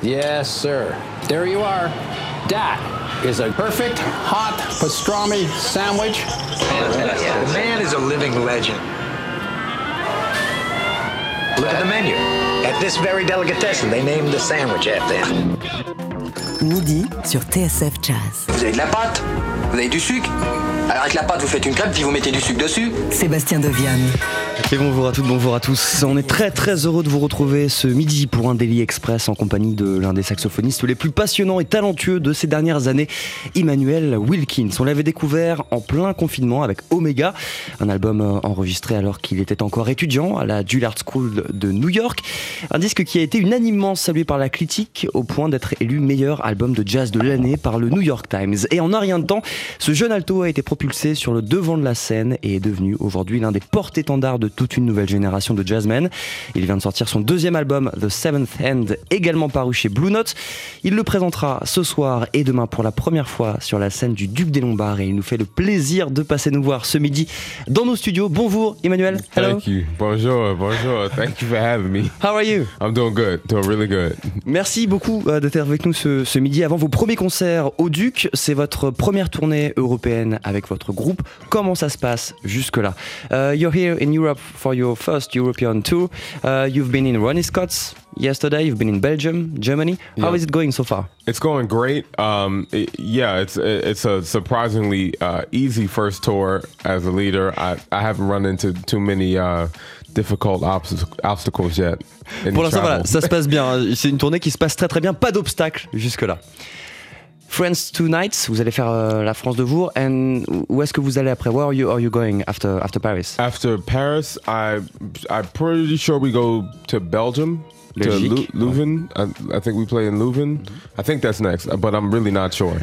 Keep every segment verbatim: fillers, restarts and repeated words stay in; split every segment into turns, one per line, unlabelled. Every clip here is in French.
Yes, sir. There you are. That is a perfect hot pastrami sandwich.
Fantastic. Yeah, the man is a living legend. Look at the menu. At this very delicatessen, they named the sandwich after him.
Midi sur T S F Jazz.
Vous avez de la pâte, vous avez du sucre. Alors avec la pâte, vous faites une crêpe, puis vous mettez du sucre dessus.
Sébastien Deviane.
Et bonjour à toutes, bonjour à tous. On est très très heureux de vous retrouver ce midi pour un Daily Express en compagnie de l'un des saxophonistes les plus passionnants et talentueux de ces dernières années, Immanuel Wilkins. On l'avait découvert en plein confinement avec Omega, un album enregistré alors qu'il était encore étudiant à la Juilliard School de New York. Un disque qui a été unanimement salué par la critique au point d'être élu meilleur album de jazz de l'année par le New York Times. Et en un rien de temps, ce jeune alto a été propulsé sur le devant de la scène et est devenu aujourd'hui l'un des porte-étendards de toute une nouvelle génération de jazzmen. Il vient de sortir son deuxième album, The Seventh Hand, également paru chez Blue Note. Il le présentera ce soir et demain pour la première fois sur la scène du Duc des Lombards et il nous fait le plaisir de passer nous voir ce midi dans nos studios. Bonjour Emmanuel. Hello.
Thank you. Bonjour, bonjour. Thank you for having me.
How are you?
I'm doing good, doing really good.
Merci beaucoup euh, d'être avec nous ce, ce midi avant vos premiers concerts au Duc. C'est votre première tournée européenne avec votre groupe. Comment ça se passe jusque-là? uh, You're here in Europe for your first European tour. Uh, you've been in Ronnie Scott's yesterday. You've been in Belgium, Germany. How
Yeah.
is it going so far?
It's going great. Um, it- yeah, it's it's a surprisingly uh, easy first tour as a leader. I, I haven't run into too many uh, difficult obst- obstacles yet. in
Pour l'instant,
travel.
voilà, ça se passe bien. C'est une tournée qui se passe très très bien. Pas d'obstacles jusque-là. France two nights. Vous allez faire euh, la France deux jours. And où est-ce que vous allez après? Where are you, are you going after after Paris?
After Paris, I I'm pretty sure we go to Belgium. To
Belgique.
Leu- Leuven. I, I think we play in Leuven. I think that's next, but I'm really not sure.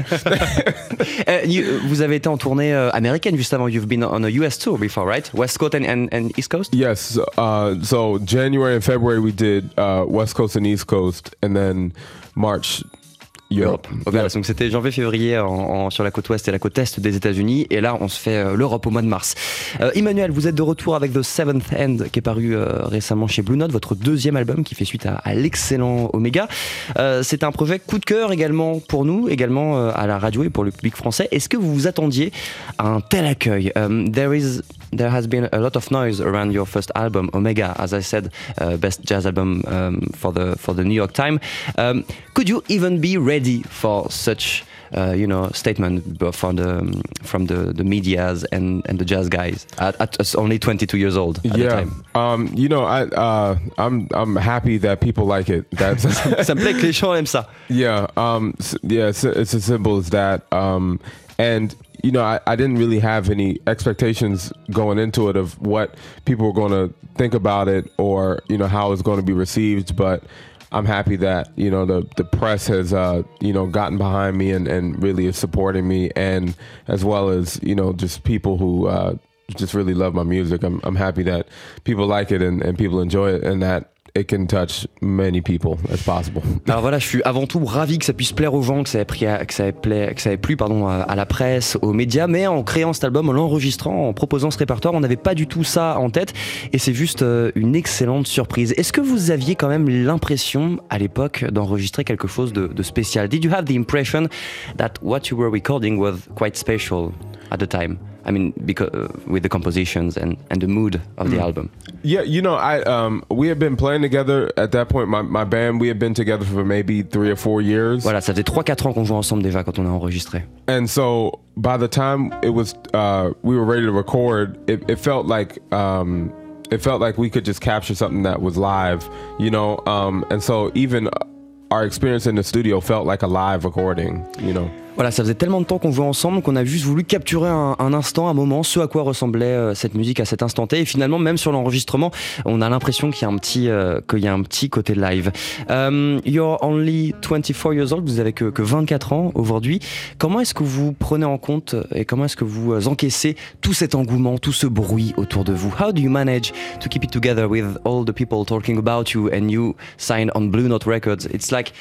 Uh, you, vous avez été en tournée euh, américaine juste avant. You've been on a U S tour before, right? West Coast and, and, and East Coast?
Yes. Uh, so January and February we did uh, West Coast and East Coast, and then March Europe.
Ok, donc c'était janvier-février en, en, sur la côte ouest et la côte est des États-Unis, et là on se fait euh, l'Europe au mois de mars. Euh, Emmanuel, vous êtes de retour avec The Seventh Hand qui est paru euh, récemment chez Blue Note, votre deuxième album qui fait suite à, à l'excellent Omega. Euh, c'est un projet coup de cœur également pour nous, également euh, à la radio et pour le public français. Est-ce que vous vous attendiez à un tel accueil? um, There is There has been a lot of noise around your first album, Omega, as I said, uh, best jazz album um, for the for the New York Times. Um, could you even be ready for such, uh, you know, statement from the from the the medias and and the jazz guys at, at only twenty-two years old at the
Yeah.
time?
Um, you know, I uh, I'm I'm happy that people like it. That's
Ça me plaît que les gens aiment ça.
yeah. Um, s- yeah. It's, it's as simple as that. Um, and you know, I, I didn't really have any expectations going into it of what people were going to think about it or, you know, how it's going to be received. But I'm happy that, you know, the, the press has, uh, you know, gotten behind me and, and really is supporting me. And as well as, you know, just people who uh, just really love my music. I'm, I'm happy that people like it and, and people enjoy it and that it can touch many people as possible.
Alors voilà, je suis avant tout ravi que ça puisse plaire aux gens, que ça ait, pris à- que ça ait, pla- que ça ait plu pardon, à, à la presse, aux médias, mais en créant cet album, en l'enregistrant, en proposant ce répertoire, on n'avait pas du tout ça en tête et c'est juste euh, une excellente surprise. Est-ce que vous aviez quand même l'impression à l'époque d'enregistrer quelque chose de, de spécial? Did you have the impression that what you were recording was quite special at the time? I mean, because uh, with the compositions and, and the mood of the album.
Yeah, you know, I um, we had been playing together at that point. My my band, we had been together for maybe three or four years.
Voilà, ça faisait trois quatre ans qu'on jouait ensemble déjà quand on a enregistré.
And so by the time it was, uh, we were ready to record. It, it felt like um, it felt like we could just capture something that was live, you know. Um, and so even our experience in the studio felt like a live recording, you know.
Voilà, ça faisait tellement de temps qu'on jouait ensemble qu'on a juste voulu capturer un, un instant, un moment, ce à quoi ressemblait euh, cette musique à cet instant T. Et finalement, même sur l'enregistrement, on a l'impression qu'il y a un petit, euh, qu'il y a un petit côté live. Um, you're only twenty-four years old, vous avez que, que vingt-quatre ans aujourd'hui. Comment est-ce que vous prenez en compte et comment est-ce que vous euh, encaissez tout cet engouement, tout ce bruit autour de vous? How do you manage to keep it together with all the people talking about you and you signed on Blue Note Records? It's like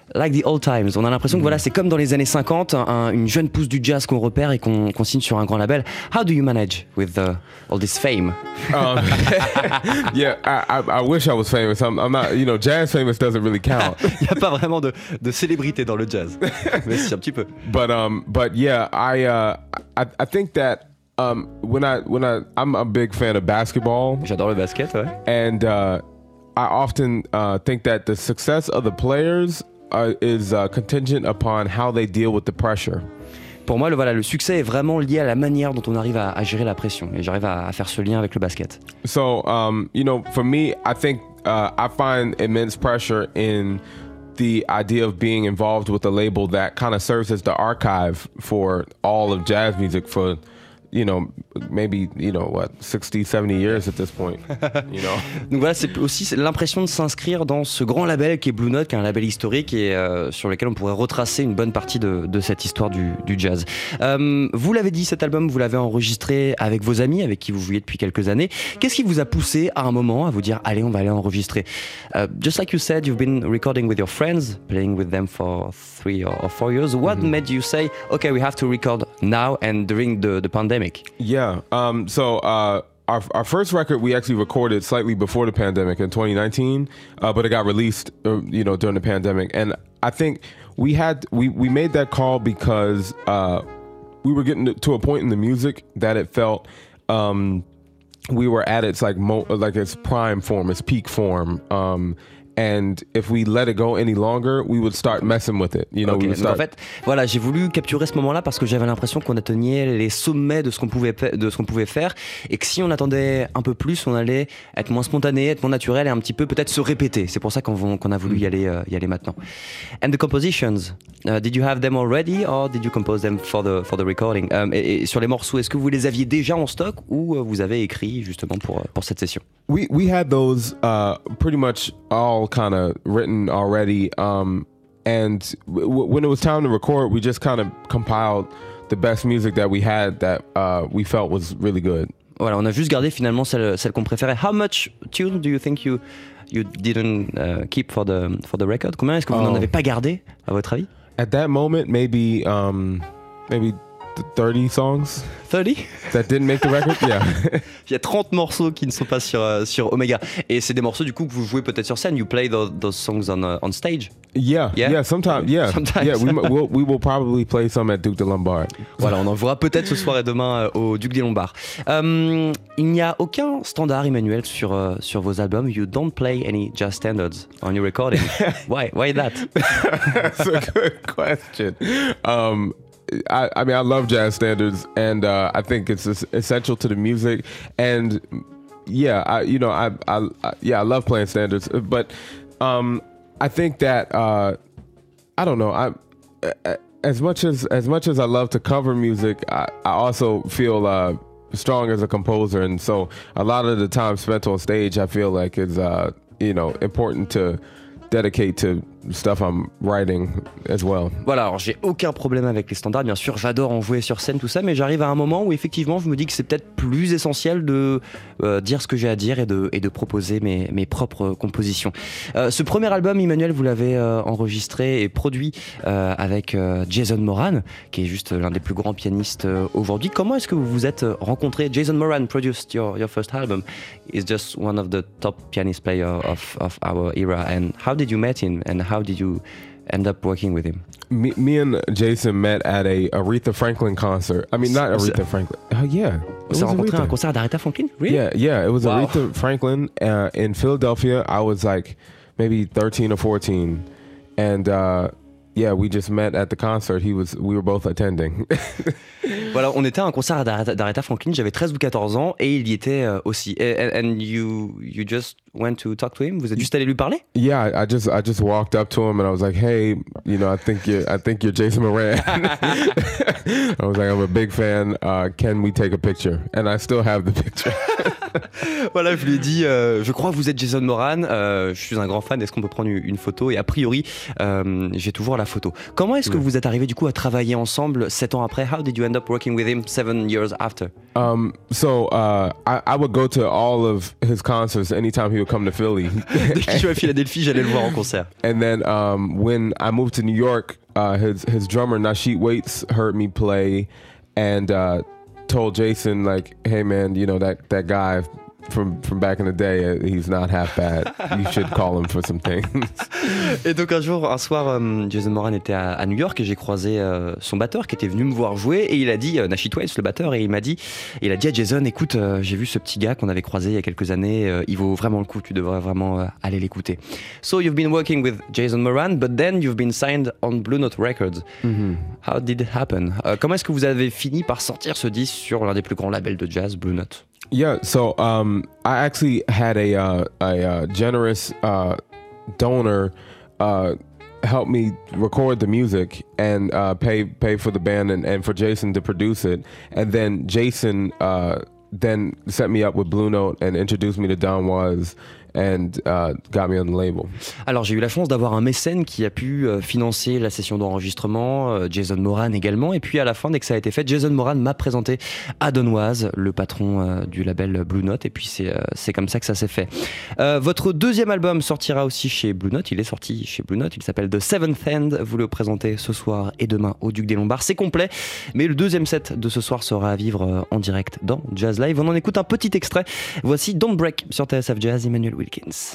Like the old times. On a l'impression que voilà, c'est comme dans les années cinquante, un, une jeune pousse du jazz qu'on repère et qu'on, qu'on signe sur un grand label. How do you manage with the, all this fame?
Um, yeah, I, I, I wish I was famous. I'm, I'm not, you know, jazz famous doesn't really count.
Il n'y a pas vraiment de, de célébrité dans le jazz, mais si, un petit peu.
But um, but yeah, I uh, I, I think that um, when I when I I'm a big fan of basketball.
J'adore le basket, ouais.
And uh, I often uh, think that the success of the players uh, is uh, contingent upon how they deal with the pressure.
Pour moi, le, voilà, le succès est vraiment lié à la manière dont on arrive à, à gérer la pression. Et j'arrive à, à faire ce lien avec le basket.
So, um, you know, for me, I think uh, I find immense pressure in the idea of being involved with a label that kind of serves as the archive for all of jazz music for, you know, maybe, you know, what, sixty, seventy years at this point, you know.
Donc voilà, c'est aussi l'impression de s'inscrire dans ce grand label qui est Blue Note, qui est un label historique et euh, sur lequel on pourrait retracer une bonne partie de, de cette histoire du, du jazz. Euh, vous l'avez dit, cet album, vous l'avez enregistré avec vos amis, avec qui vous jouiez depuis quelques années. Qu'est-ce qui vous a poussé à un moment à vous dire, allez, on va aller enregistrer? uh, Just like you said, you've been recording with your friends, playing with them for three or four years. What mm-hmm. made you say, okay, we have to record now and during the, the pandemic?
Yeah. Um, so uh, our our first record we actually recorded slightly before the pandemic in twenty nineteen, uh, but it got released, uh, you know, during the pandemic. And I think we had we we made that call because uh, we were getting to a point in the music that it felt um, we were at its like mo- like its prime form, its peak form. Um, And if we let it go any longer, we would start messing with it. You know,
okay.
we would start...
En fait, voilà, j'ai voulu capturer ce moment-là parce que j'avais l'impression qu'on atteignait les sommets de ce qu'on pouvait de ce qu'on pouvait faire, et que si on attendait un peu plus, on allait être moins spontané, être moins naturel et un petit peu peut-être se répéter. C'est pour ça qu'on, qu'on a voulu y aller, euh, y aller maintenant. And the compositions, uh, did you have them already or did you compose them for the for the recording? Um, et, et sur les morceaux, est-ce que vous les aviez déjà en stock ou euh, vous avez écrit justement pour pour cette session?
We we had those uh, pretty much all kind of written already, um, and w- when it was time to record, we just kind of compiled the best music that we had that uh, we felt was really good.
Voilà, on a juste gardé finalement celle, celle qu'on préférait. How much tune do you think you you didn't uh, keep for the for the record? Combien est-ce que vous oh. n'en avez pas gardé, à votre avis?
At that moment, maybe um, maybe thirty songs.
thirty
That didn't make the record, yeah.
Il y a trente morceaux qui ne sont pas sur, uh, sur Omega. Et c'est des morceaux du coup que vous jouez peut-être sur scène. You play those, those songs on, uh, on stage?
Yeah, yeah, yeah sometimes, yeah.
Sometimes.
Yeah, we, we'll, we will probably play some at Duke de Lombard.
Voilà, on en verra peut-être ce soir et demain euh, au Duc des Lombards. Um, il n'y a aucun standard, Emmanuel, sur, uh, sur vos albums. You don't play any jazz standards on your recording. Why? Why that?
That's a good question. Um, I, I mean, I love jazz standards, and uh, I think it's essential to the music. And yeah, I, you know, I, I, I yeah, I love playing standards. But um, I think that uh, I don't know. I as much as as much as I love to cover music, I, I also feel uh, strong as a composer, and so a lot of the time spent on stage, I feel like is uh, you know important to dedicate to stuff I'm writing as well.
Voilà, alors j'ai aucun problème avec les standards, bien sûr, j'adore en jouer sur scène, tout ça, mais j'arrive à un moment où effectivement je me dis que c'est peut-être plus essentiel de euh, dire ce que j'ai à dire et de, et de proposer mes, mes propres compositions. Euh, ce premier album, Emmanuel, vous l'avez euh, enregistré et produit euh, avec euh, Jason Moran, qui est juste l'un des plus grands pianistes euh, aujourd'hui. Comment est-ce que vous vous êtes rencontrés? Jason Moran produced your, your first album. He's just one of the top pianist players of, of our era. And how did you meet him and how did you end up working with him?
Me, me and Jason met at a Aretha Franklin concert. I mean, not Aretha Franklin. Oh, yeah.
Vous avez rencontré un concert d'Aretha Franklin? Really?
Yeah, yeah. It was
wow.
Aretha Franklin uh, in Philadelphia. I was like maybe thirteen or fourteen. And uh, yeah, we just met at the concert. He was, we were both attending.
Voilà, on était à un concert d'Aretha, d'Aretha Franklin, j'avais treize ou quatorze ans et il y était euh, aussi. And, and you, you just went to talk to him? Vous êtes juste allé lui parler?
Yeah, I, I just I just walked up to him and I was like, hey, you know, I think you're I think you're Jason Moran. I was like, I'm a big fan. Uh, can we take a picture? And I still have the picture.
Voilà, je lui ai dit, euh, je crois que vous êtes Jason Moran. Euh, je suis un grand fan. Est-ce qu'on peut prendre une photo? Et a priori, euh, j'ai toujours la photo. Comment est-ce que vous êtes arrivés du coup à travailler ensemble sept ans après? How did you end up working with him seven years after?
Um, so uh, I, I would go to all of his concerts anytime he he would come to Philly.
Dès qu'il jouait à Philadelphie, j'allais le voir en concert.
And then um, when I moved to New York, uh, his his drummer Nasheet Waits heard me play, and uh, told Jason like, "Hey man, you know that that guy from from back in the day, uh, he's not half bad. You should call him for some things."
Et donc un jour, un soir, euh, Jason Moran était à, à New York et j'ai croisé euh, son batteur qui était venu me voir jouer et il a dit, euh, Nasheet Waits, le batteur, et il m'a dit, il a dit à Jason, écoute, euh, j'ai vu ce petit gars qu'on avait croisé il y a quelques années, euh, il vaut vraiment le coup, tu devrais vraiment euh, aller l'écouter. So you've been working with Jason Moran, but then you've been signed on Blue Note Records. Mm-hmm. How did it happen? Euh, comment est-ce que vous avez fini par sortir ce disque sur l'un des plus grands labels de jazz, Blue Note?
Yeah, so um, I actually had a uh, a, a generous uh, donor uh, help me record the music and uh, pay pay for the band and, and for Jason to produce it, and then Jason uh, then set me up with Blue Note and introduced me to Don Was and uh, got me on the label.
Alors j'ai eu la chance d'avoir un mécène qui a pu euh, financer la session d'enregistrement, euh, Jason Moran également, et puis à la fin, dès que ça a été fait, Jason Moran m'a présenté à Don Was, le patron euh, du label Blue Note, et puis c'est, euh, c'est comme ça que ça s'est fait. Euh, votre deuxième album sortira aussi chez Blue Note, il est sorti chez Blue Note, il s'appelle The Seventh Hand, vous le présentez ce soir et demain au Duc des Lombards, c'est complet, mais le deuxième set de ce soir sera à vivre euh, en direct dans Jazz Live. On en écoute un petit extrait, voici Don't Break sur T S F Jazz, Emmanuel Wilkins.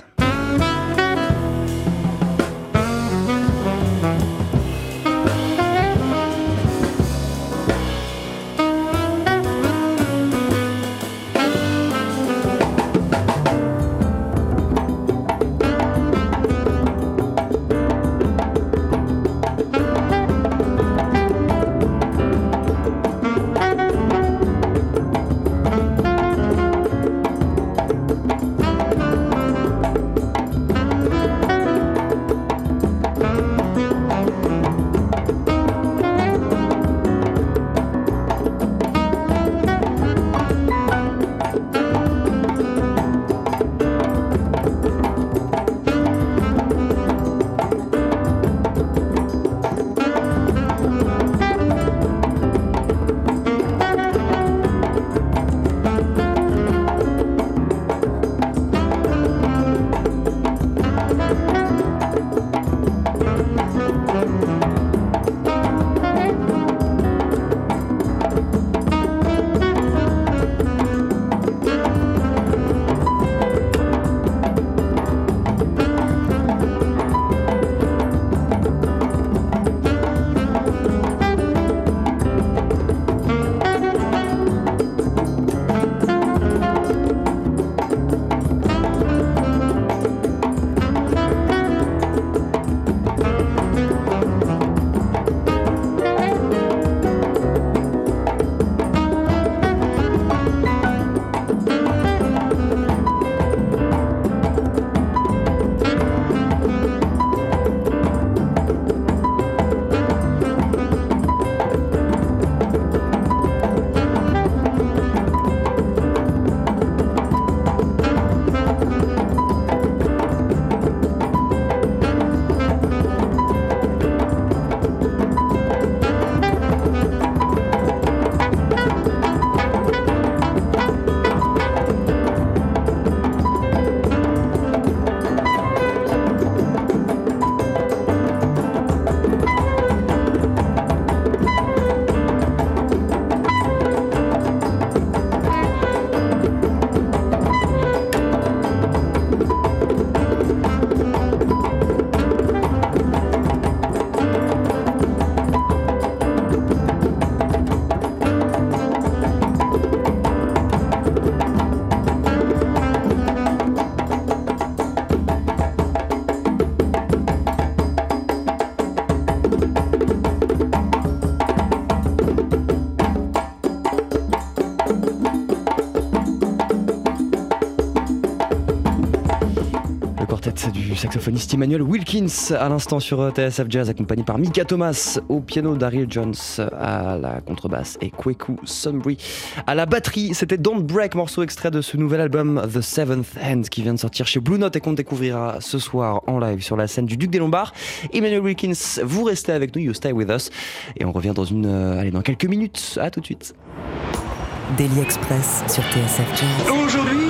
Du saxophoniste Emmanuel Wilkins à l'instant sur T S F Jazz, accompagné par Mika Thomas au piano, Daryl Jones à la contrebasse et Kweku Sunbury à la batterie. C'était Don't Break, morceau extrait de ce nouvel album The Seventh Hand qui vient de sortir chez Blue Note et qu'on découvrira ce soir en live sur la scène du Duc des Lombards. Emmanuel Wilkins, vous restez avec nous, you stay with us, et on revient dans une, euh, allez, dans quelques minutes. À tout de suite.
Daily Express sur T S F Jazz.
Aujourd'hui, moule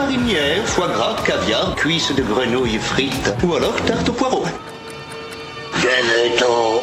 marinière, foie gras, caviar, cuisses de grenouille frites ou alors tarte au poireau. Galeton.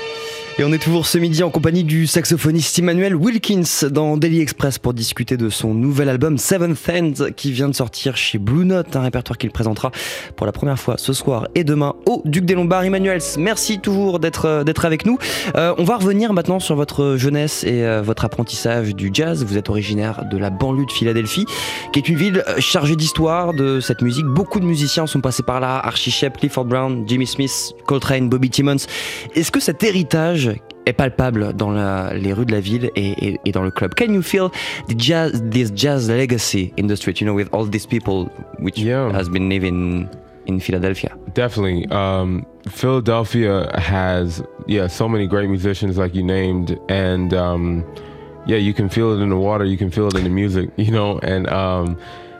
Et on est toujours ce midi en compagnie du saxophoniste Immanuel Wilkins dans Daily Express pour discuter de son nouvel album Seventh End qui vient de sortir chez Blue Note, un répertoire qu'il présentera pour la première fois ce soir et demain au Duc des Lombards. Immanuel, merci toujours d'être, d'être avec nous. Euh, on va revenir maintenant sur votre jeunesse et euh, votre apprentissage du jazz. Vous êtes originaire de la banlieue de Philadelphie, qui est une ville chargée d'histoire de cette musique. Beaucoup de musiciens sont passés par là, Archie Shepp, Clifford Brown, Jimmy Smith, Coltrane, Bobby Timmons. Est-ce que cet héritage est palpable dans la, les rues de la ville et, et, et dans le club? Can you feel the jazz, this jazz legacy in the street, you know, with all these people which
yeah.
has been living in Philadelphia?
Definitely. Um, Philadelphia has, yeah, so many great musicians like you named, and um, yeah, you can feel it in the water, you can feel it in the music, you know, and um,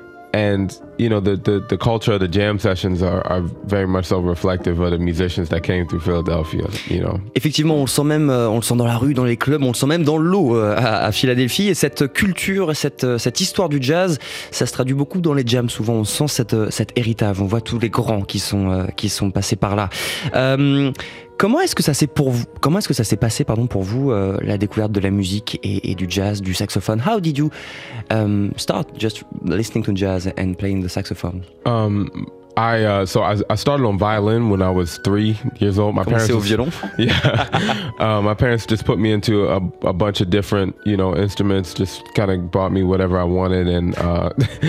and you know the, the the culture of the jam sessions are, are very much so reflective of the musicians that came through Philadelphia, you know.
Effectivement, on le sent même, on le sent dans la rue, dans les clubs, on le sent même dans l'eau à, à Philadelphie. Et cette culture, cette cette histoire du jazz, ça se traduit beaucoup dans les jams. Souvent, on sent cette cet héritage. On voit tous les grands qui sont qui sont passés par là. Euh, Comment est-ce que ça s'est pour vous Comment est-ce que ça s'est passé, pardon, pour vous euh, la découverte de la musique et, et du jazz, du saxophone? How did you um, start just listening to jazz and playing the saxophone?
Um, I uh, so I, I started on violin when I was three years old. My parents
au violon.
Yeah, uh, my parents just put me into a, a bunch of different, you know, instruments. Just kind of bought me whatever I wanted and uh,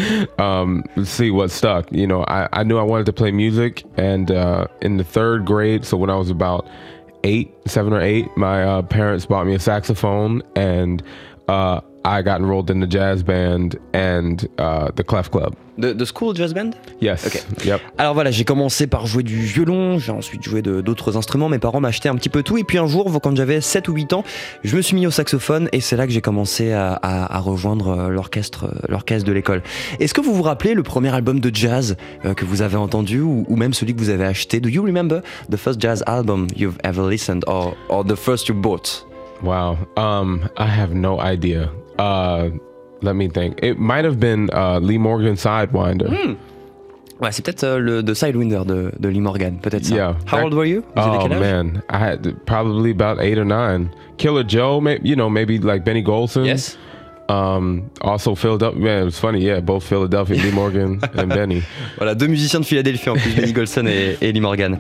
um, see what stuck. You know, I, I knew I wanted to play music, and uh, in the third grade, so when I was about eight, seven or eight, my uh, parents bought me a saxophone, and uh, I got enrolled in the jazz band and uh, the Clef Club.
The, the school jazz band?
Yes.
Okay.
Yep.
Alors voilà, j'ai commencé par jouer du violon, j'ai ensuite joué de, d'autres instruments. Mes parents m'achetaient un petit peu tout. Et puis un jour, quand j'avais sept ou huit ans, je me suis mis au saxophone et c'est là que j'ai commencé à, à, à rejoindre l'orchestre, l'orchestre de l'école. Est-ce que vous vous rappelez le premier album de jazz euh, que vous avez entendu ou, ou même celui que vous avez acheté? Do you remember the first jazz album you've ever listened or, or the first you bought?
Wow. Um, I have no idea. Uh, let me think. It might have been uh, Lee Morgan Sidewinder.
Mm. Ouais, c'est peut-être euh, le The Sidewinder de, de Lee Morgan, peut-être ça.
Yeah.
How old were you? Vous avez
Oh
quel âge?
man, I had probably about eight or nine. Killer Joe, maybe, you know, maybe like Benny Golson.
Yes.
Um, also Philadelphia. Man, it was funny. Yeah, both Philadelphia, Lee Morgan and Benny.
Voilà, deux musiciens de Philadelphie en plus, Benny Golson et, et Lee Morgan.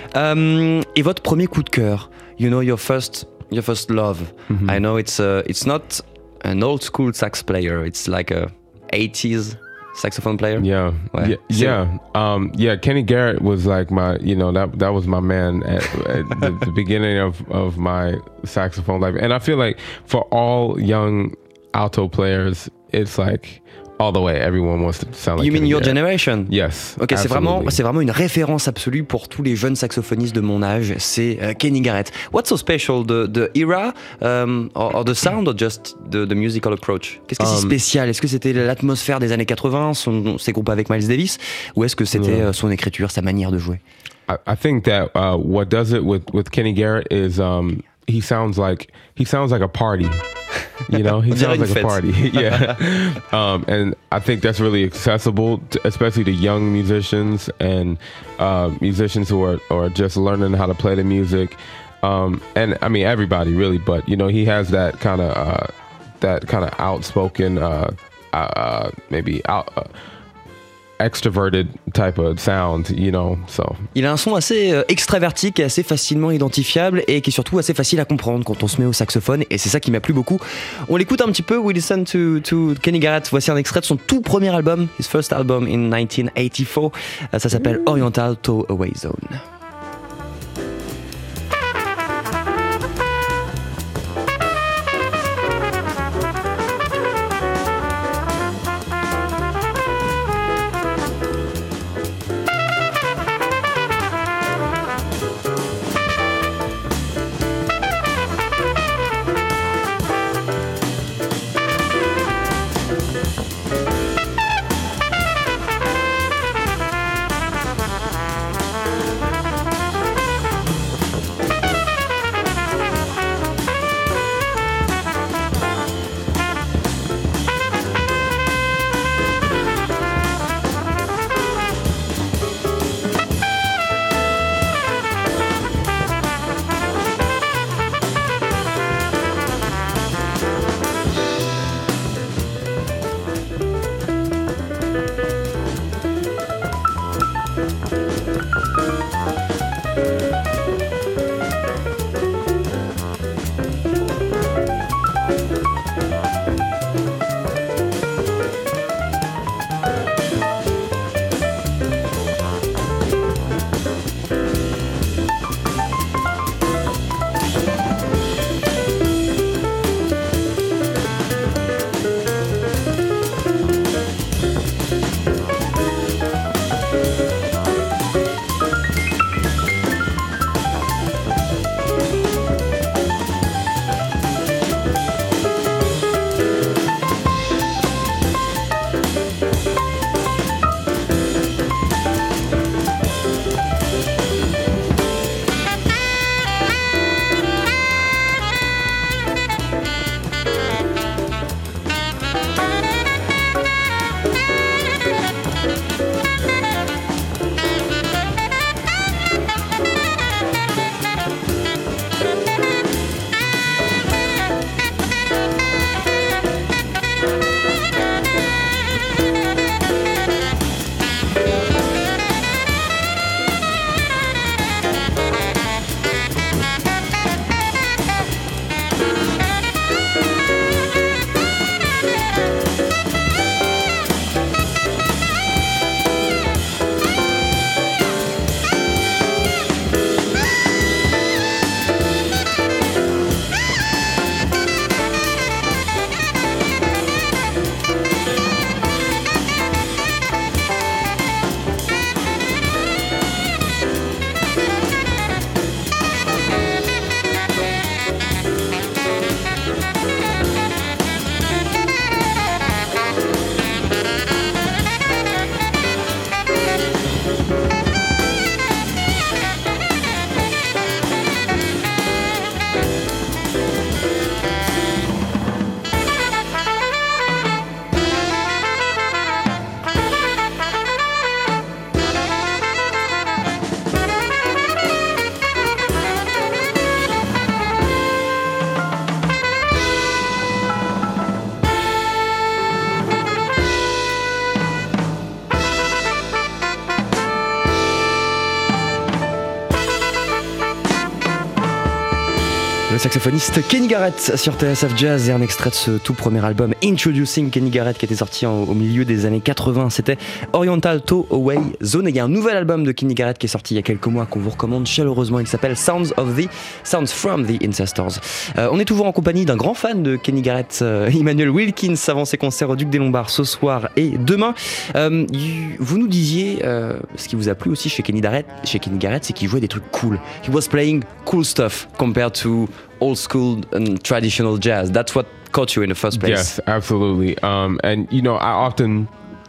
Um, et votre premier coup de cœur, you know, your first, your first love. Mm-hmm. I know it's uh, it's not an old school sax player. It's like a eighties saxophone player.
Yeah,
ouais.
yeah, yeah. Um, yeah. Kenny Garrett was like my, you know, that that was my man at, at the, the beginning of of my saxophone life. And I feel like for all young alto players, it's like all the way. Everyone wants to sound like.
You mean
Kenny
your
Garrett.
generation?
Yes.
Ok, c'est vraiment, c'est vraiment une référence absolue pour tous les jeunes saxophonistes de mon âge. C'est uh, Kenny Garrett. What's so special, the the era, um, or, or the sound, or just the, the musical approach? Qu'est-ce qui est si
Um,
spécial? Est-ce que c'était l'atmosphère des années quatre-vingts, son, ses groupes avec Miles Davis, ou est-ce que c'était
Yeah.
uh, son écriture, sa manière de jouer?
I, I think that uh, what does it with with Kenny Garrett is um, he sounds like he sounds like a party. You know, he sounds like a party. Yeah. Um, and I think that's really accessible, to, especially to young musicians and uh, musicians who are, are just learning how to play the music. Um, and I mean, everybody really, but you know, he has that kind of, uh, that kind of outspoken, uh, uh, maybe out, uh, extroverted type of sound, you know, so.
Il a un son assez euh, extraverti, qui est assez facilement identifiable et qui est surtout assez facile à comprendre quand on se met au saxophone, et c'est ça qui m'a plu beaucoup. On l'écoute un petit peu, we listen to, to Kenny Garrett. Voici un extrait de son tout premier album, his first album in nineteen eighty-four. Euh, ça s'appelle Oriental Towaway Zone. Le saxophoniste Kenny Garrett sur T S F Jazz et un extrait de ce tout premier album Introducing Kenny Garrett qui était sorti en, au milieu des années quatre-vingts. C'était Oriental Tow Away Zone. Et il y a un nouvel album de Kenny Garrett qui est sorti il y a quelques mois qu'on vous recommande chaleureusement. Il s'appelle Sounds of the Sounds from the Ancestors. Euh, on est toujours en compagnie d'un grand fan de Kenny Garrett, euh, Emmanuel Wilkins, avant ses concerts au Duc des Lombards ce soir et demain. Euh, vous nous disiez euh, ce qui vous a plu aussi chez Kenny Garrett, chez Kenny Garrett, c'est qu'il jouait des trucs cool. He was playing cool stuff compared to old school and traditional jazz. That's what caught you in the first place.
Yes, absolutely. Um, and you know, I often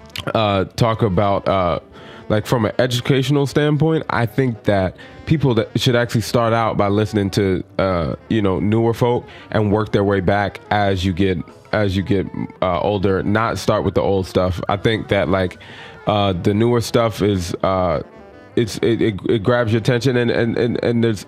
uh, talk about uh, like from an educational standpoint. I think that people that should actually start out by listening to uh, you know newer folk and work their way back as you get as you get uh, older. Not start with the old stuff. I think that like uh, the newer stuff is uh, it's it, it, it grabs your attention and and and, and there's.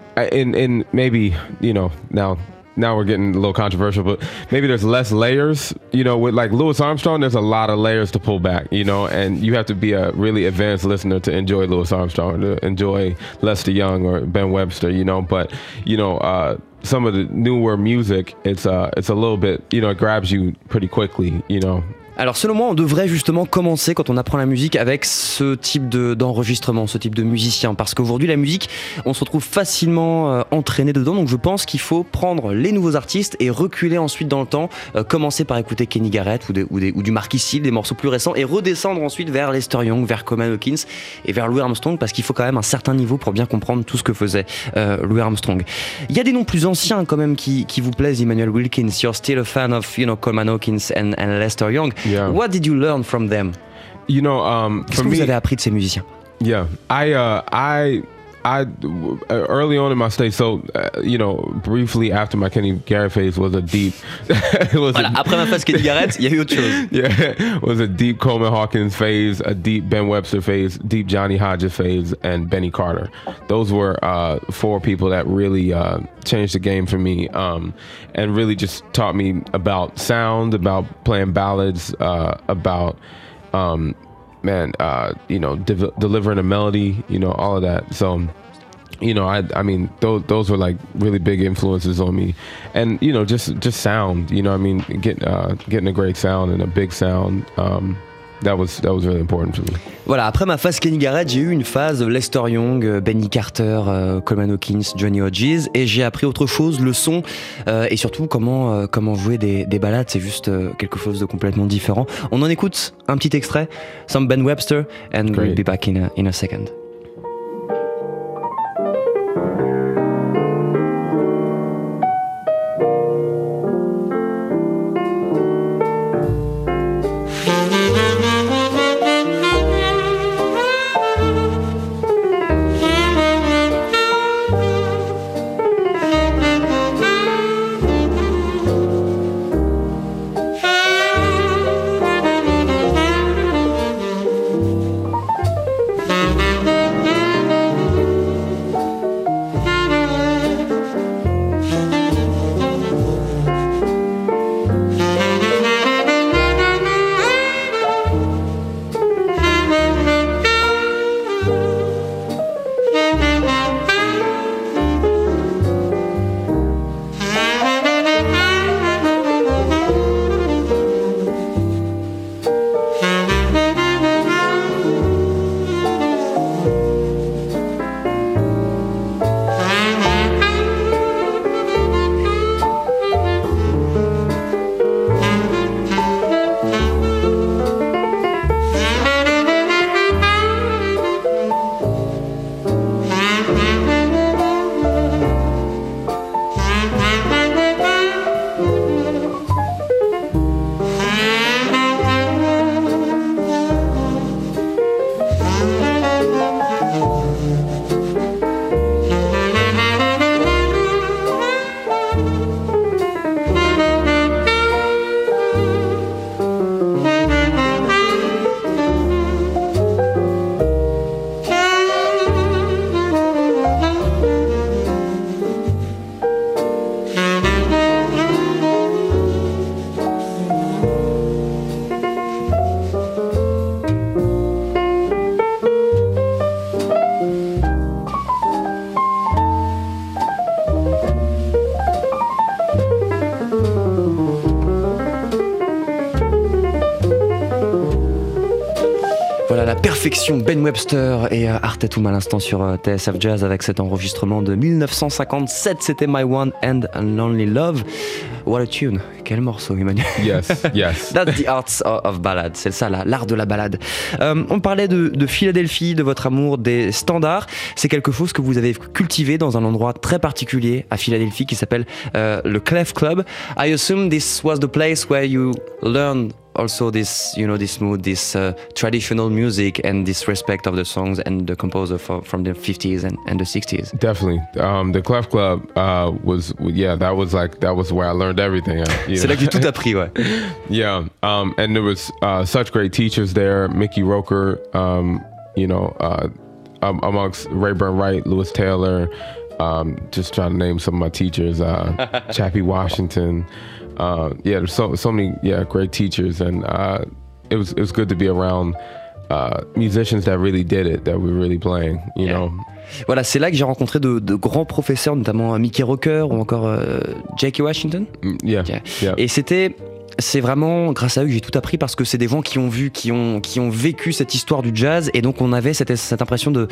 In in maybe you know now now we're getting a little controversial, but maybe there's less layers. You know, with like Louis Armstrong, there's a lot of layers to pull back. You know, and you have to be a really advanced listener to enjoy Louis Armstrong, to enjoy Lester Young or Ben Webster. You know, but you know, uh, some of the newer music, it's uh it's a little bit, you know, it grabs you pretty quickly. You know.
Alors selon moi, on devrait justement commencer quand on apprend la musique avec ce type de, d'enregistrement, ce type de musicien, parce qu'aujourd'hui la musique, on se retrouve facilement euh, entraîné dedans, donc je pense qu'il faut prendre les nouveaux artistes et reculer ensuite dans le temps, euh, commencer par écouter Kenny Garrett ou, des, ou, des, ou du Marquis Steele, des morceaux plus récents, et redescendre ensuite vers Lester Young, vers Coleman Hawkins et vers Louis Armstrong, parce qu'il faut quand même un certain niveau pour bien comprendre tout ce que faisait euh, Louis Armstrong. Il y a des noms plus anciens quand même qui, qui vous plaisent, Emmanuel Wilkins. You're still a fan of, you know, Coleman Hawkins and, and Lester Young.
Yeah.
What did you learn from them?
You know, um,
Qu'est-ce
for
que vous
me,
avez appris de ces musiciens?
Yeah, I, uh, I, I, uh, early on in my stay, so uh, you know, briefly after my Kenny Garrett phase was a deep. it was
voilà,
a,
après ma phase Kenny Garrett, il y a eu autre chose.
Yeah, it was a deep Coleman Hawkins phase, a deep Ben Webster phase, deep Johnny Hodges phase, and Benny Carter. Those were uh, four people that really uh, changed the game for me, um, and really just taught me about sound, about playing ballads, uh, about. Um, man, uh, you know, de- delivering a melody, you know, all of that. So, you know, I, I mean, those, those were like really big influences on me, and you know, just, just sound. You know, I mean, get, uh, getting a great sound and a big sound. Um, That was, that was really important for me.
Voilà, après ma phase Kenny Garrett, j'ai eu une phase Lester Young, Benny Carter, euh, Coleman Hawkins, Johnny Hodges, et j'ai appris autre chose, le son, euh, et surtout comment, euh, comment jouer des, des ballades, c'est juste euh, quelque chose de complètement différent. On en écoute un petit extrait, some Ben Webster, and Great. We'll be back in a, in a second.
Thank you.
perfection. Ben Webster et euh, Art Tatum à l'instant sur euh, T S F Jazz avec cet enregistrement de dix-neuf cent cinquante-sept. C'était My One and Only Love. What a tune. Quel morceau, Emmanuel.
Yes, yes.
That's the art of ballad. C'est ça, là, l'art de la balade. Euh, on parlait de, de Philadelphie, de votre amour des standards. C'est quelque chose que vous avez cultivé dans un endroit très particulier à Philadelphie qui s'appelle euh, le Clef Club. I assume this was the place where you learned also this, you know, this mood, this uh, traditional music and this respect of the songs and the composer for, from the fifties and, and the sixties.
Definitely. Um, the Clef Club uh, was, yeah, that was like, that was where I learned everything.
C'est là que j'ai tout appris, ouais.
Yeah. Um, and there was uh, such great teachers there. Mickey Roker, um, you know, uh, um, amongst Rayburn Wright, Lewis Taylor, um, just trying to name some of my teachers, uh, Chappie Washington. Uh, yeah, there's so so many yeah great teachers, and uh, it was it was good to be around uh, musicians that really did it, that were really playing, you yeah. know.
Voilà, c'est là que j'ai rencontré de, de grands professeurs, notamment Mickey Roker ou encore euh, Jackie Washington.
Yeah,
yeah.
yeah.
Et c'était c'est vraiment grâce à eux que j'ai tout appris parce que c'est des gens qui ont vu, qui ont qui ont vécu cette histoire du jazz, et donc on avait cette cette impression de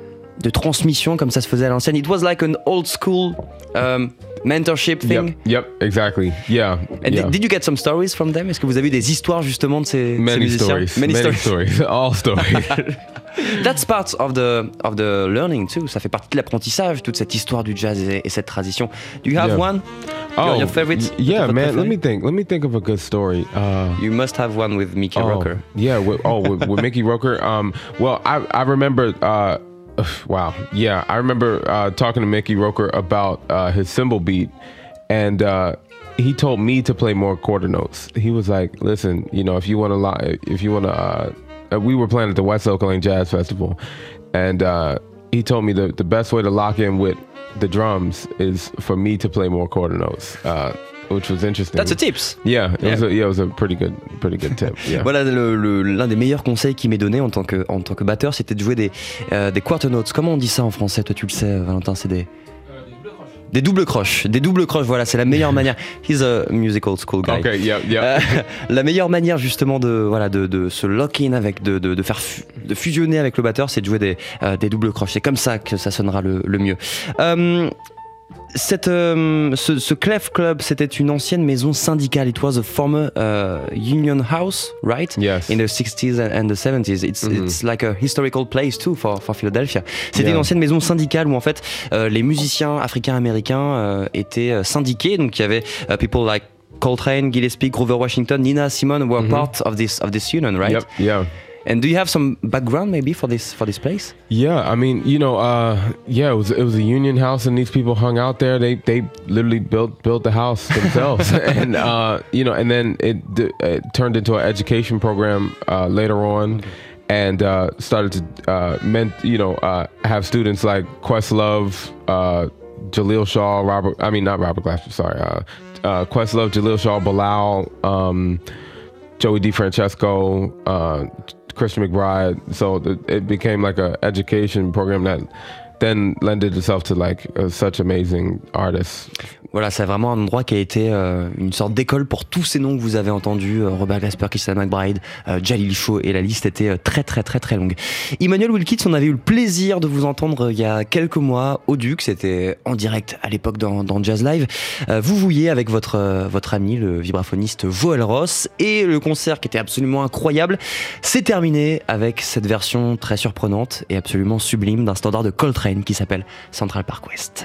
de transmission comme ça se faisait à l'ancienne. It was like an old school um, mentorship thing.
Yep, yep, exactly. Yeah.
And
yeah.
Did, did you get some stories from them? Est-ce que vous avez eu des histoires justement de ces,
Many
ces musiciens?
stories. Many, Many stories. stories. All stories.
That's part of the of the learning too. Ça fait partie de l'apprentissage, toute cette histoire du jazz et, et cette tradition. Do you have
yeah.
one?
Oh,
your, your favorite?
Yeah, man. Let me think. Let me think of a good story. Uh,
you must have one with Mickey
oh,
Roker.
Yeah. With, oh, with, with Mickey Roker. Um. Well, I I remember. Uh, Wow. Yeah. I remember uh, talking to Mickey Roker about uh, his cymbal beat, and uh, he told me to play more quarter notes. He was like, listen, you know, if you want to lie, if you want to, uh, we were playing at the West Oak Lane Jazz Festival, and uh, he told me the, the best way to lock in with the drums is for me to play more quarter notes. Uh, Which was interesting.
That's a tips.
Yeah, it
yeah.
was a, yeah, it was a pretty good, pretty good tip. Yeah.
Voilà, le, le, l'un des meilleurs conseils qu'il m'ait donné en tant que, en tant que batteur, c'était de jouer des, euh, des quarter notes. Comment on dit ça en français? Toi, tu le sais, Valentin, c'est des... Des doubles croches, des doubles croches, voilà, c'est la meilleure manière. He's a musical school guy.
Okay, yeah, yeah.
Euh, la meilleure manière justement de voilà de, de se lock in avec, de, de, de faire fu- de fusionner avec le batteur, c'est de jouer des, euh, des doubles croches. C'est comme ça que ça sonnera le, le mieux. Euh, Cette, euh, ce, ce Clef Club, c'était une ancienne maison syndicale. It was a former uh, union house, right?
Yes.
In the sixties and the seventies. It's, mm-hmm. it's like a historical place too for, for Philadelphia. C'était yeah. une ancienne maison syndicale où en fait euh, les musiciens africains-américains euh, étaient euh, syndiqués. Donc il y avait uh, people like Coltrane, Gillespie, Grover Washington, Nina Simone were mm-hmm. part of this of this union, right?
Yep. Yeah.
And do you have some background maybe for this for this place?
Yeah, I mean, you know, uh, yeah, it was it was a union house, and these people hung out there. They they literally built built the house themselves, and uh, you know, and then it, it turned into an education program uh, later on, okay. and uh, started to uh, meant you know uh, have students like Questlove, uh, Jaleel Shaw, Robert. I mean, not Robert Glasper. Sorry, uh, uh, Questlove, Jaleel Shaw, Bilal, um, Joey DeFrancesco. Uh, Christian McBride, so it became like a education program that then lended itself to like uh, such amazing artists.
Voilà, c'est vraiment un endroit qui a été euh, une sorte d'école pour tous ces noms que vous avez entendus, euh, Robert Glasper, Christian McBride, euh, Jalil Shaw, et la liste était euh, très très très très longue. Emmanuel Wilkins, on avait eu le plaisir de vous entendre euh, il y a quelques mois au Duc, c'était en direct à l'époque dans, dans Jazz Live. Euh, vous vouliez avec votre, euh, votre ami, le vibraphoniste Joël Ross, et le concert qui était absolument incroyable s'est terminé avec cette version très surprenante et absolument sublime d'un standard de Coltrane qui s'appelle Central Park West.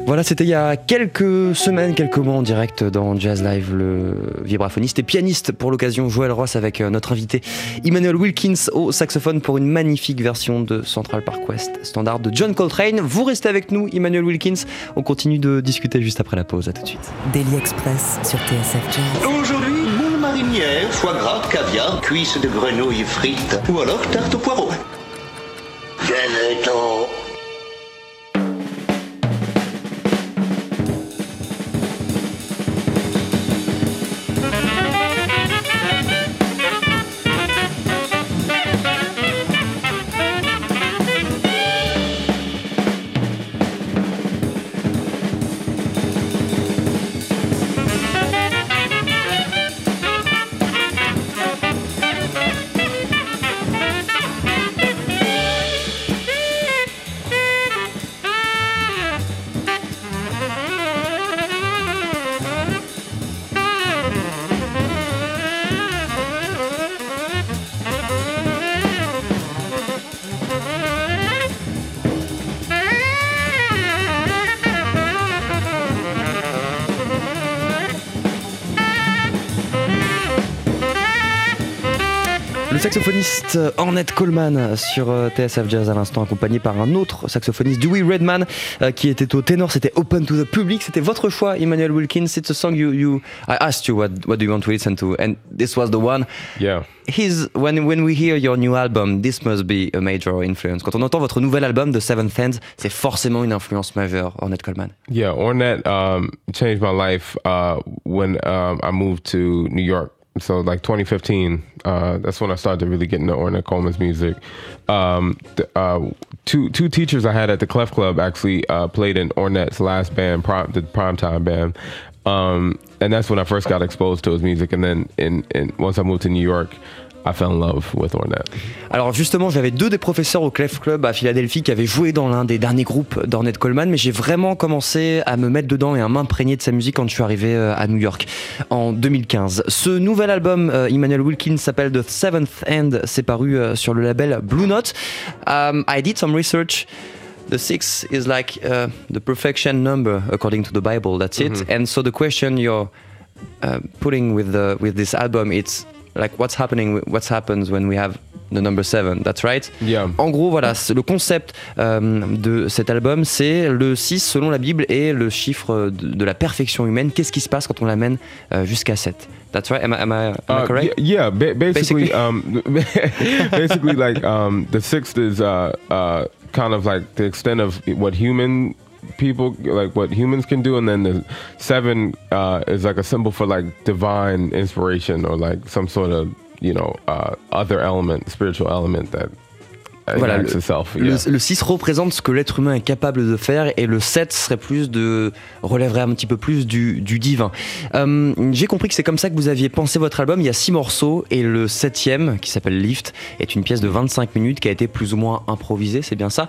Voilà, c'était il y a quelques semaines, quelques mois en direct dans Jazz Live, le vibraphoniste et pianiste pour l'occasion Joël Ross avec notre invité Emmanuel Wilkins au saxophone pour une magnifique version de Central Park West, standard de John Coltrane. Vous restez avec nous, Emmanuel Wilkins. On continue de discuter juste après la pause. À tout de suite.
Daily Express sur T S F Jazz.
Aujourd'hui, moule marinière, foie gras, caviar, cuisses de grenouille frites ou alors tarte au poireau. Ganeton.
Le saxophoniste Ornette Coleman sur T S F Jazz à l'instant, accompagné par un autre saxophoniste, Dewey Redman, euh, qui était au ténor. C'était Open to the Public. C'était votre choix, Emmanuel Wilkins. It's a song you, you I asked you what what do you want to listen to, and this was the one.
Yeah.
His when when we hear your new album, this must be a major influence. Quand on entend votre nouvel album, The Seventh Hand, c'est forcément une influence majeure, Ornette Coleman.
Yeah, Ornette um, changed my life uh, when um, I moved to New York. So like twenty fifteen, uh, that's when I started to really get into Ornette Coleman's music. Um, the, uh, two two teachers I had at the Clef Club actually uh, played in Ornette's last band, Prime, the Primetime Band, um, and that's when I first got exposed to his music. And then in, in once I moved to New York, I fell in love with Ornette.
Alors justement, j'avais deux des professeurs au Clef Club à Philadelphie qui avaient joué dans l'un des derniers groupes d'Ornette Coleman, mais j'ai vraiment commencé à me mettre dedans et à m'imprégner de sa musique quand je suis arrivé à New York en deux mille quinze. Ce nouvel album, euh, Emmanuel Wilkins, s'appelle The Seventh Hand. C'est paru euh, sur le label Blue Note. Um, I did some research. The six is like uh, the perfection number according to the Bible. That's it. Mm-hmm. And so the question you're uh, putting with the with this album, it's like what's happening, what happens when we have the number seven, that's right?
Yeah.
En gros, voilà, le concept euh, de cet album, c'est le six selon la Bible et le chiffre de, de la perfection humaine. Qu'est-ce qui se passe quand on l'amène euh, jusqu'à sept? That's right. Am I, am I, am I correct?
Uh, yeah, yeah ba- basically, basically? Um, basically, like um, the sixth is uh, uh, kind of like the extent of what human people like what humans can do, and then the seven uh is like a symbol for like divine inspiration or like some sort of, you know, uh other element, spiritual element that
voilà, le,
itself, yeah.
le, le six représente ce que l'être humain est capable de faire, et le sept serait plus de relèverait un petit peu plus du, du divin. Euh, j'ai compris que c'est comme ça que vous aviez pensé votre album. Il y a six morceaux et le septième, qui s'appelle Lift, est une pièce de vingt-cinq minutes qui a été plus ou moins improvisée, c'est bien ça?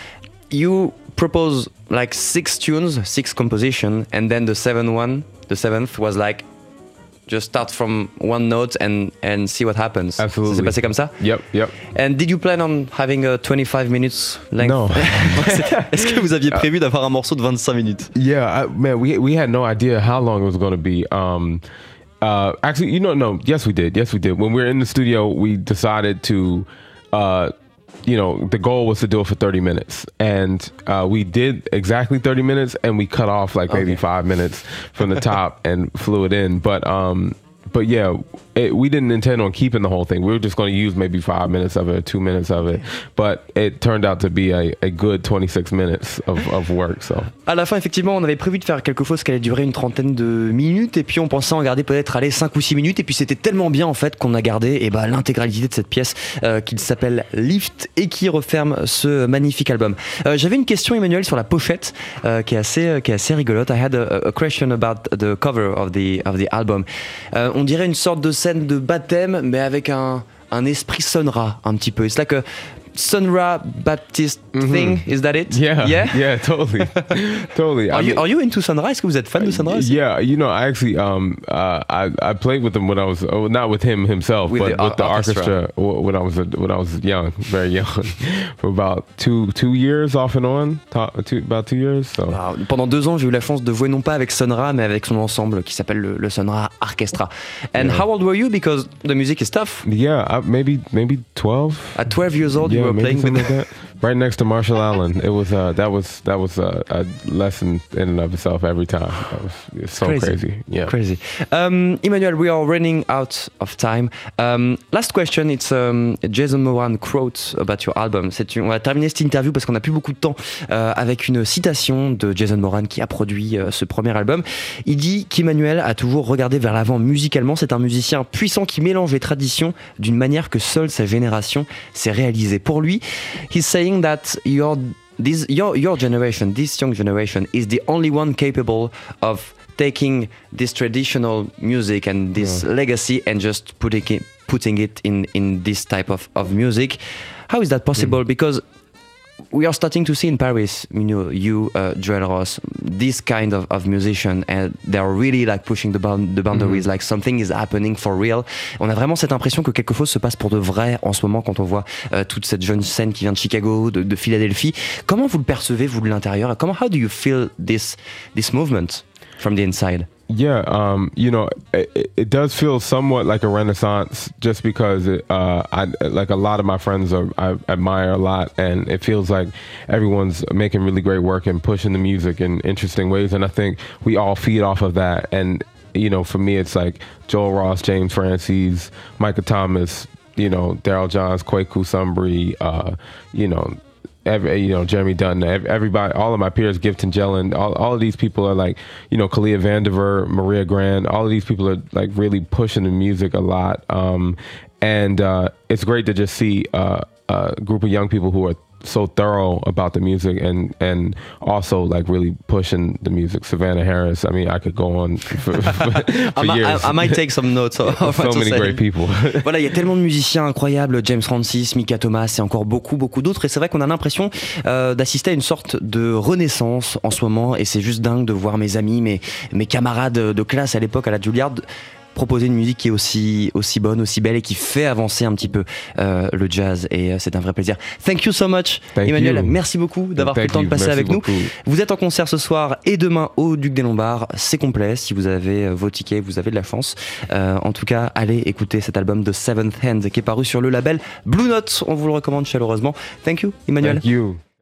You propose like six tunes, six compositions, and then the seventh one, the seventh was like just start from one note and and see what happens.
Absolutely.
Ça s'est passé comme ça?
Yep, yep.
And did you plan on having a twenty-five minutes length?
No.
Est-ce que vous aviez prévu d'avoir un morceau de vingt-cinq minutes?
Yeah, I, man, we we had no idea how long it was going to be. Um, uh, actually, you know, no, yes, we did. Yes, we did. When we were in the studio, we decided to. Uh, You know, the goal was to do it for thirty minutes, and uh, we did exactly thirty minutes, and we cut off like maybe okay. five minutes from the top and flew it in. But um, but yeah, it, we didn't intend on keeping the whole thing. We were just going to use maybe five minutes of it, or two minutes of it. But it turned out to be a, a good twenty-six minutes of, of work. So.
À la fin, effectivement, on avait prévu de faire quelque chose qui allait durer une trentaine de minutes, et puis on pensait en garder peut-être aller cinq ou six minutes, et puis c'était tellement bien en fait qu'on a gardé eh ben, l'intégralité de cette pièce euh, qui s'appelle Lift et qui referme ce magnifique album. Euh, j'avais une question, Emmanuel, sur la pochette euh, qui est assez qui est assez rigolote. I had a, a question about the cover of the of the album. Euh, on dirait une sorte de scène de baptême, mais avec un un esprit sonora un petit peu. It's like a Sonra Baptiste
Mhm.
thing, is that it?
Yeah,
Yeah?
yeah, totally, totally.
Are
I
you,
mean-
are you into Sonra? Est-ce que vous êtes fan de Sonra aussi?
Yeah, you know, I actually, um, uh, I I played with him when I was oh, not with him himself,
With
but
the
with the
or- orchestra.
orchestra w- when I was a, when I was young, very young, for about two two years off and on, to, two, about two years. So
Wow. Pendant deux ans, j'ai eu la chance de jouer non pas avec Sonra, mais avec son ensemble qui s'appelle le, le Sonra Orchestra. And
Yeah.
how old were you? Because the music is tough.
yeah, I, maybe maybe twelve.
At twelve years old,
yeah,
you were
maybe
playing with.
something like that. Right next to Marshall Allen. It was uh, that was that was a, a lesson in and of itself every time. That was it's so
Crazy.
crazy. Yeah.
Crazy. Um, Emmanuel, we are running out of time. Um, last question, it's um, a Jason Moran quote about your album. C'est une- on va terminer cette interview parce qu'on n'a plus beaucoup de temps euh, avec une citation de Jason Moran qui a produit euh, ce premier album. Il dit qu'Emmanuel a toujours regardé vers l'avant musicalement. C'est un musicien puissant qui mélange les traditions d'une manière que seule sa génération s'est réalisée. Pour lui, he's saying that your this your your generation, this young generation, is the only one capable of taking this traditional music and this legacy and just putting it putting it in in this type of, of music. How is that possible? Because we are starting to see in Paris, you know, you, uh, Joel Ross, this kind of, of musician, and they're really like pushing the, bound, the boundaries, like something is happening for real. On a vraiment cette impression que quelque chose se passe pour de vrai en ce moment quand on voit euh, toute cette jeune scène qui vient de Chicago, de, de Philadelphie. Comment vous le percevez, vous, de l'intérieur? Comment, how do you feel this, this movement from the inside?
Yeah, um, you know, it, it does feel somewhat like a renaissance, just because it, uh, I like a lot of my friends are, I admire a lot, and it feels like everyone's making really great work and pushing the music in interesting ways, and I think we all feed off of that. And you know, for me, it's like Joel Ross, James Francis, Micah Thomas, you know, Daryl Johns, Kwaku Sumbry, uh, you know. Every, you know, Jeremy Dunn, everybody, all of my peers, Gifton Jellin, all, all of these people are like, you know, Kalia Vandiver, Maria Grand, all of these people are like really pushing the music a lot. Um, and uh, it's great to just see uh, a group of young people who are so thorough about the music and and also like really pushing the music. Savannah Harris, I mean, I could go on for, for, for
I, might,
years.
I, I might take some notes. of what
So
to
many
say.
great people.
Voilà, il y a tellement de musiciens incroyables, James Francis, Micah Thomas et encore beaucoup, beaucoup d'autres. Et c'est vrai qu'on a l'impression euh, d'assister à une sorte de renaissance en ce moment. Et c'est juste dingue de voir mes amis, mes, mes camarades de classe à l'époque à la Juilliard proposer une musique qui est aussi, aussi bonne, aussi belle et qui fait avancer un petit peu euh, le jazz. Et euh, c'est un vrai plaisir. Thank you so much,
Thank
Emmanuel.
you.
Merci beaucoup d'avoir pris
Thank
le temps de
you.
passer
Merci
avec
beaucoup.
nous. Vous êtes en concert ce soir et demain au Duc des Lombards. C'est complet. Si vous avez vos tickets, vous avez de la chance. Euh, en tout cas, allez écouter cet album de Seventh Hand qui est paru sur le label Blue Note. On vous le recommande chaleureusement. Thank you, Emmanuel.
Thank you.